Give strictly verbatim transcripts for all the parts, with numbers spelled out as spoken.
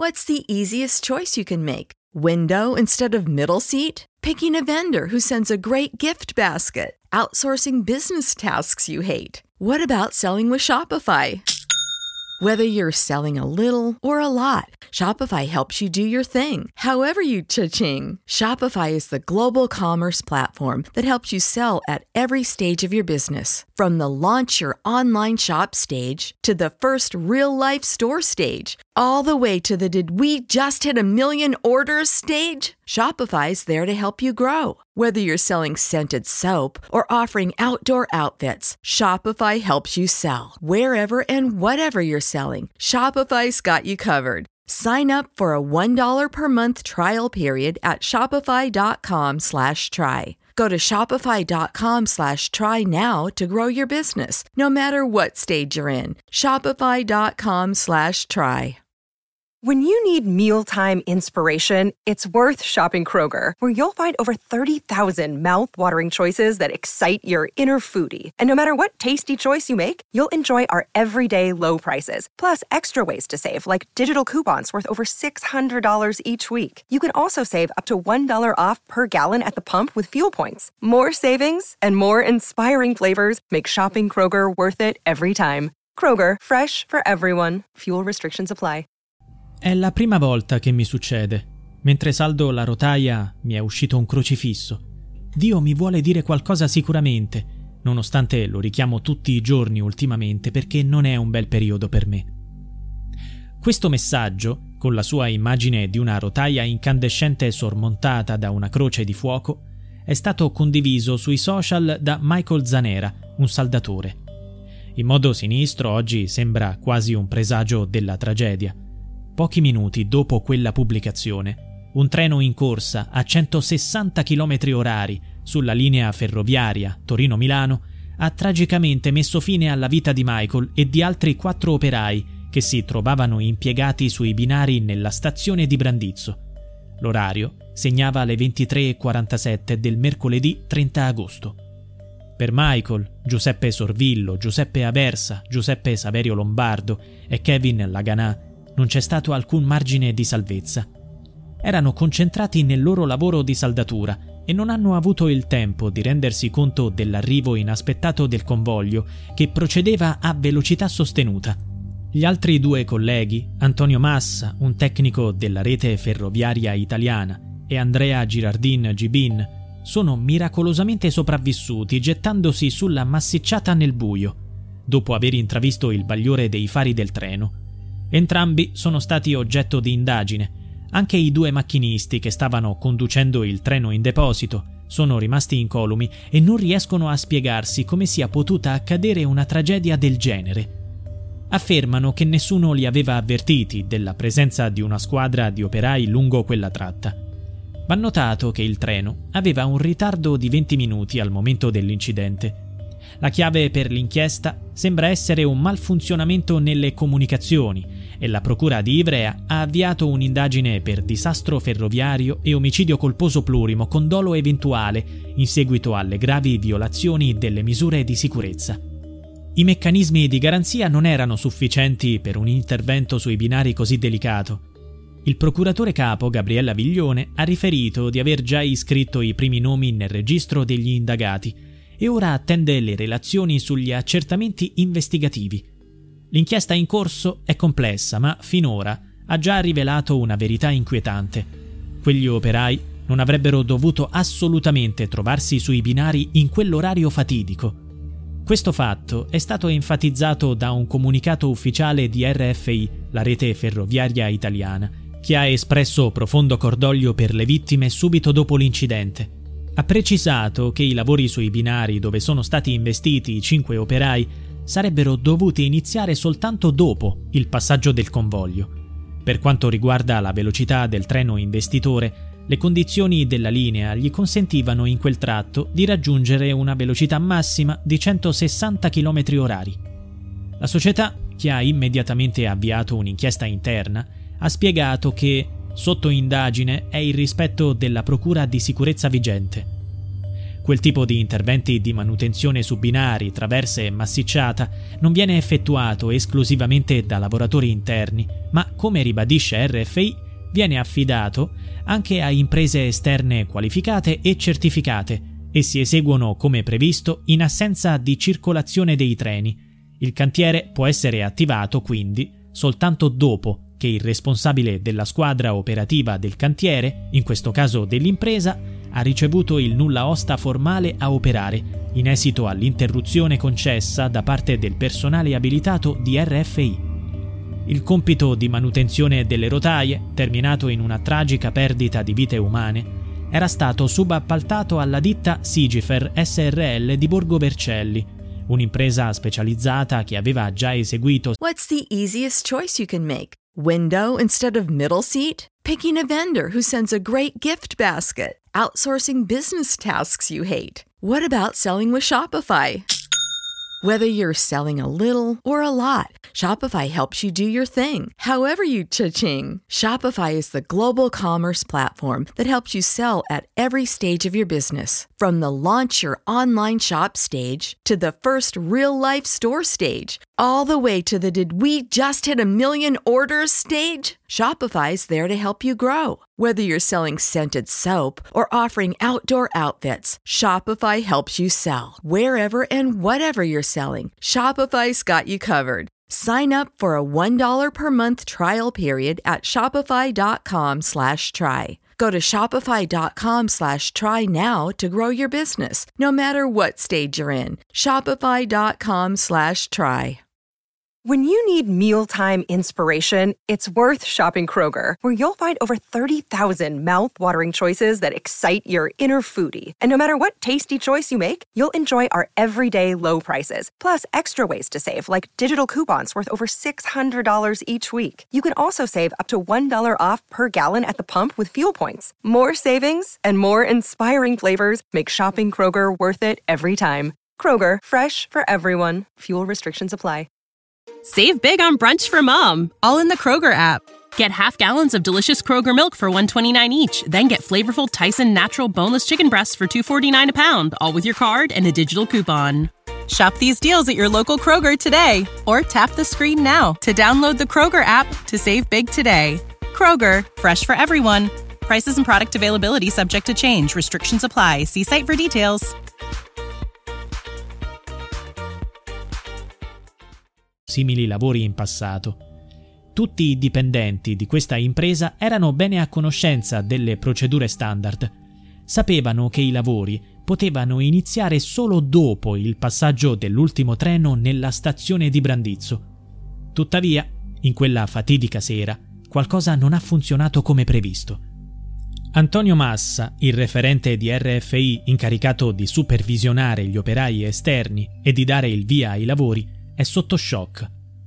What's the easiest choice you can make? Window instead of middle seat? Picking a vendor who sends a great gift basket? Outsourcing business tasks you hate? What about selling with Shopify? Whether you're selling a little or a lot, Shopify helps you do your thing, however you cha-ching. Shopify is the global commerce platform that helps you sell at every stage of your business. From the launch your online shop stage to the first real-life store stage, all the way to the did we just hit a million orders stage. Shopify's there to help you grow. Whether you're selling scented soap or offering outdoor outfits, Shopify helps you sell. Wherever and whatever you're selling, Shopify's got you covered. Sign up for a one dollar per month trial period at shopify.com slash try. Go to shopify.com slash try now to grow your business, no matter what stage you're in. Shopify.com slash try. When you need mealtime inspiration, it's worth shopping Kroger, where you'll find over thirty thousand mouth-watering choices that excite your inner foodie. And no matter what tasty choice you make, you'll enjoy our everyday low prices, plus extra ways to save, like digital coupons worth over six hundred dollars each week. You can also save up to one dollar off per gallon at the pump with fuel points. More savings and more inspiring flavors make shopping Kroger worth it every time. Kroger, fresh for everyone. Fuel restrictions apply. È la prima volta che mi succede. Mentre saldo la rotaia mi è uscito un crocifisso. Dio mi vuole dire qualcosa sicuramente, nonostante lo richiamo tutti i giorni ultimamente perché non è un bel periodo per me. Questo messaggio, con la sua immagine di una rotaia incandescente sormontata da una croce di fuoco, è stato condiviso sui social da Michael Zanera, un saldatore. In modo sinistro oggi sembra quasi un presagio della tragedia. Pochi minuti dopo quella pubblicazione, un treno in corsa a centosessanta chilometri orari sulla linea ferroviaria Torino-Milano ha tragicamente messo fine alla vita di Michael e di altri quattro operai che si trovavano impiegati sui binari nella stazione di Brandizzo. L'orario segnava le ventitré e quarantasette del mercoledì trenta agosto. Per Michael, Giuseppe Sorvillo, Giuseppe Aversa, Giuseppe Saverio Lombardo e Kevin Laganà non c'è stato alcun margine di salvezza. Erano concentrati nel loro lavoro di saldatura e non hanno avuto il tempo di rendersi conto dell'arrivo inaspettato del convoglio che procedeva a velocità sostenuta. Gli altri due colleghi, Antonio Massa, un tecnico della rete ferroviaria italiana, e Andrea Girardin Gibin, sono miracolosamente sopravvissuti gettandosi sulla massicciata nel buio, dopo aver intravisto il bagliore dei fari del treno. Entrambi sono stati oggetto di indagine. Anche i due macchinisti che stavano conducendo il treno in deposito sono rimasti incolumi e non riescono a spiegarsi come sia potuta accadere una tragedia del genere. Affermano che nessuno li aveva avvertiti della presenza di una squadra di operai lungo quella tratta. Va notato che il treno aveva un ritardo di venti minuti al momento dell'incidente. La chiave per l'inchiesta sembra essere un malfunzionamento nelle comunicazioni e la procura di Ivrea ha avviato un'indagine per disastro ferroviario e omicidio colposo plurimo con dolo eventuale in seguito alle gravi violazioni delle misure di sicurezza. I meccanismi di garanzia non erano sufficienti per un intervento sui binari così delicato. Il procuratore capo Gabriella Viglione ha riferito di aver già iscritto i primi nomi nel registro degli indagati e ora attende le relazioni sugli accertamenti investigativi. L'inchiesta in corso è complessa, ma finora ha già rivelato una verità inquietante. Quegli operai non avrebbero dovuto assolutamente trovarsi sui binari in quell'orario fatidico. Questo fatto è stato enfatizzato da un comunicato ufficiale di R F I, la rete ferroviaria italiana, che ha espresso profondo cordoglio per le vittime subito dopo l'incidente. Ha precisato che i lavori sui binari dove sono stati investiti i cinque operai sarebbero dovuti iniziare soltanto dopo il passaggio del convoglio. Per quanto riguarda la velocità del treno investitore, le condizioni della linea gli consentivano in quel tratto di raggiungere una velocità massima di centosessanta chilometri orari. La società, che ha immediatamente avviato un'inchiesta interna, ha spiegato che sotto indagine è il rispetto della procura di sicurezza vigente. Quel tipo di interventi di manutenzione su binari, traverse e massicciata non viene effettuato esclusivamente da lavoratori interni, ma, come ribadisce R F I, viene affidato anche a imprese esterne qualificate e certificate e si eseguono come previsto in assenza di circolazione dei treni. Il cantiere può essere attivato quindi soltanto dopo che il responsabile della squadra operativa del cantiere, in questo caso dell'impresa, ha ricevuto il nulla osta formale a operare, in esito all'interruzione concessa da parte del personale abilitato di R F I. Il compito di manutenzione delle rotaie, terminato in una tragica perdita di vite umane, era stato subappaltato alla ditta Sigifer S R L di Borgo Vercelli, un'impresa specializzata che aveva già eseguito. What's the easiest choice you can make? Window instead of middle seat? Picking a vendor who sends a great gift basket? Outsourcing business tasks you hate? What about selling with Shopify? Whether you're selling a little or a lot, Shopify helps you do your thing, however you cha-ching. Shopify is the global commerce platform that helps you sell at every stage of your business. From the launch your online shop stage to the first real-life store stage, all the way to the did we just hit a million orders stage? Shopify's there to help you grow. Whether you're selling scented soap or offering outdoor outfits, Shopify helps you sell. Wherever and whatever you're selling, Shopify's got you covered. Sign up for a one dollar per month trial period at shopify.com slash try. Go to shopify.com slash try now to grow your business, no matter what stage you're in. Shopify.com slash try. When you need mealtime inspiration, it's worth shopping Kroger, where you'll find over thirty thousand mouth-watering choices that excite your inner foodie. And no matter what tasty choice you make, you'll enjoy our everyday low prices, plus extra ways to save, like digital coupons worth over six hundred dollars each week. You can also save up to one dollar off per gallon at the pump with fuel points. More savings and more inspiring flavors make shopping Kroger worth it every time. Kroger, fresh for everyone. Fuel restrictions apply. Save big on brunch for mom, all in the Kroger app. Get half gallons of delicious Kroger milk for one dollar and twenty-nine cents each. Then get flavorful Tyson natural boneless chicken breasts for two dollars and forty-nine cents a pound, all with your card and a digital coupon. Shop these deals at your local Kroger today, or tap the screen now to download the Kroger app to save big today. Kroger, fresh for everyone. Prices and product availability subject to change. Restrictions apply. See site for details. Simili lavori in passato. Tutti i dipendenti di questa impresa erano bene a conoscenza delle procedure standard. Sapevano che i lavori potevano iniziare solo dopo il passaggio dell'ultimo treno nella stazione di Brandizzo. Tuttavia, in quella fatidica sera, qualcosa non ha funzionato come previsto. Antonio Massa, il referente di R F I incaricato di supervisionare gli operai esterni e di dare il via ai lavori, è sotto shock.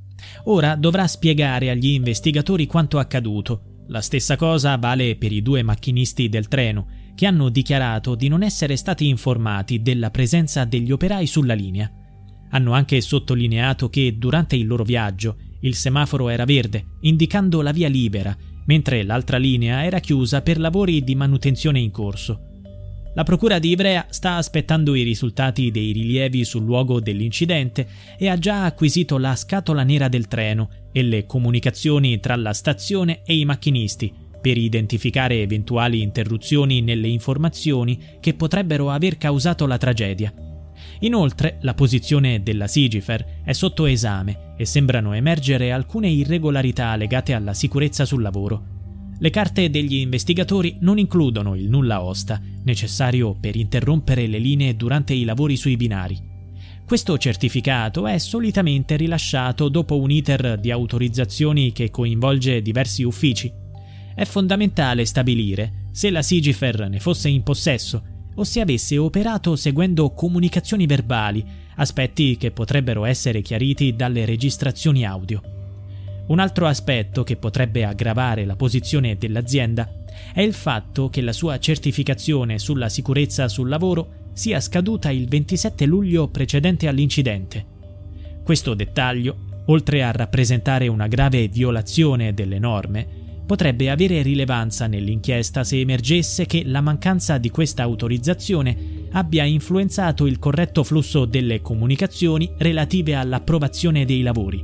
Ora dovrà spiegare agli investigatori quanto accaduto. La stessa cosa vale per i due macchinisti del treno, che hanno dichiarato di non essere stati informati della presenza degli operai sulla linea. Hanno anche sottolineato che durante il loro viaggio il semaforo era verde, indicando la via libera, mentre l'altra linea era chiusa per lavori di manutenzione in corso. La procura di Ivrea sta aspettando i risultati dei rilievi sul luogo dell'incidente e ha già acquisito la scatola nera del treno e le comunicazioni tra la stazione e i macchinisti per identificare eventuali interruzioni nelle informazioni che potrebbero aver causato la tragedia. Inoltre, la posizione della Sigifer è sotto esame e sembrano emergere alcune irregolarità legate alla sicurezza sul lavoro. Le carte degli investigatori non includono il nulla osta, necessario per interrompere le linee durante i lavori sui binari. Questo certificato è solitamente rilasciato dopo un iter di autorizzazioni che coinvolge diversi uffici. È fondamentale stabilire se la Sigifer ne fosse in possesso o se avesse operato seguendo comunicazioni verbali, aspetti che potrebbero essere chiariti dalle registrazioni audio. Un altro aspetto che potrebbe aggravare la posizione dell'azienda è il fatto che la sua certificazione sulla sicurezza sul lavoro sia scaduta il ventisette luglio precedente all'incidente. Questo dettaglio, oltre a rappresentare una grave violazione delle norme, potrebbe avere rilevanza nell'inchiesta se emergesse che la mancanza di questa autorizzazione abbia influenzato il corretto flusso delle comunicazioni relative all'approvazione dei lavori.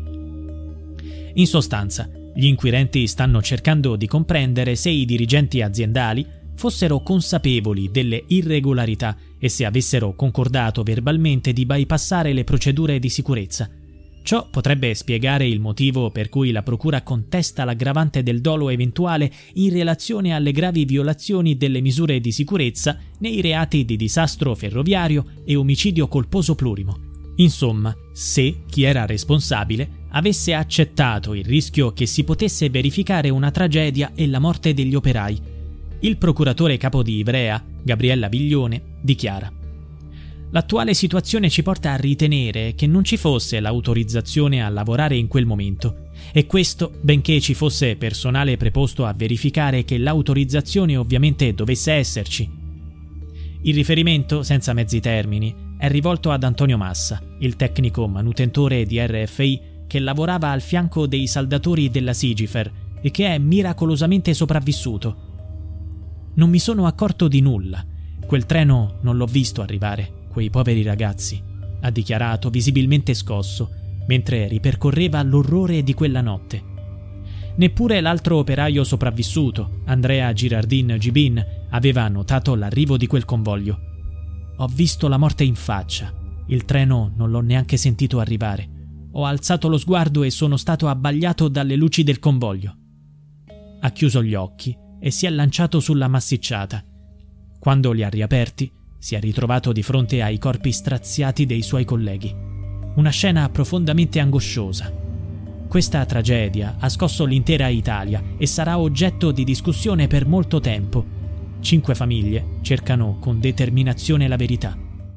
In sostanza, gli inquirenti stanno cercando di comprendere se i dirigenti aziendali fossero consapevoli delle irregolarità e se avessero concordato verbalmente di bypassare le procedure di sicurezza. Ciò potrebbe spiegare il motivo per cui la procura contesta l'aggravante del dolo eventuale in relazione alle gravi violazioni delle misure di sicurezza nei reati di disastro ferroviario e omicidio colposo plurimo. Insomma, se chi era responsabile avesse accettato il rischio che si potesse verificare una tragedia e la morte degli operai. Il procuratore capo di Ivrea, Gabriella Viglione, dichiara: l'attuale situazione ci porta a ritenere che non ci fosse l'autorizzazione a lavorare in quel momento, e questo benché ci fosse personale preposto a verificare che l'autorizzazione ovviamente dovesse esserci. Il riferimento, senza mezzi termini, è rivolto ad Antonio Massa, il tecnico manutentore di R F I che lavorava al fianco dei saldatori della Sigifer e che è miracolosamente sopravvissuto. Non mi sono accorto di nulla. Quel treno non l'ho visto arrivare. Quei poveri ragazzi, ha dichiarato visibilmente scosso, mentre ripercorreva l'orrore di quella notte. Neppure l'altro operaio sopravvissuto, Andrea Girardin Gibin, aveva notato l'arrivo di quel convoglio. Ho visto la morte in faccia. Il treno non l'ho neanche sentito arrivare. Ho alzato lo sguardo e sono stato abbagliato dalle luci del convoglio. Ha chiuso gli occhi e si è lanciato sulla massicciata. Quando li ha riaperti, si è ritrovato di fronte ai corpi straziati dei suoi colleghi. Una scena profondamente angosciosa. Questa tragedia ha scosso l'intera Italia e sarà oggetto di discussione per molto tempo. Cinque famiglie cercano con determinazione la verità.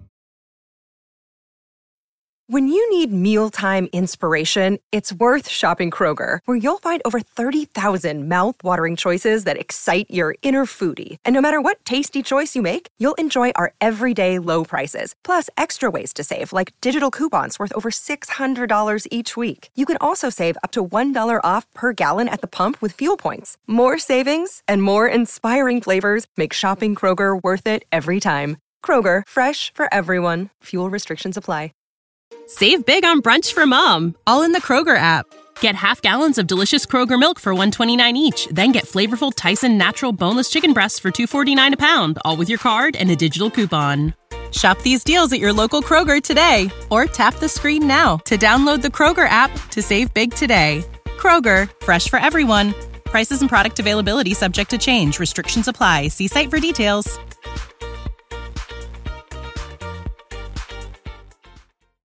When you need mealtime inspiration, it's worth shopping Kroger, where you'll find over thirty thousand mouth-watering choices that excite your inner foodie. And no matter what tasty choice you make, you'll enjoy our everyday low prices, plus extra ways to save, like digital coupons worth over six hundred dollars each week. You can also save up to one dollar off per gallon at the pump with fuel points. More savings and more inspiring flavors make shopping Kroger worth it every time. Kroger, fresh for everyone. Fuel restrictions apply. Save big on brunch for mom, all in the Kroger app. Get half gallons of delicious Kroger milk for one dollar and twenty-nine cents each. Then get flavorful Tyson natural boneless chicken breasts for two dollars and forty-nine cents a pound, all with your card and a digital coupon. Shop these deals at your local Kroger today, or tap the screen now to download the Kroger app to save big today. Kroger, fresh for everyone. Prices and product availability subject to change. Restrictions apply. See site for details.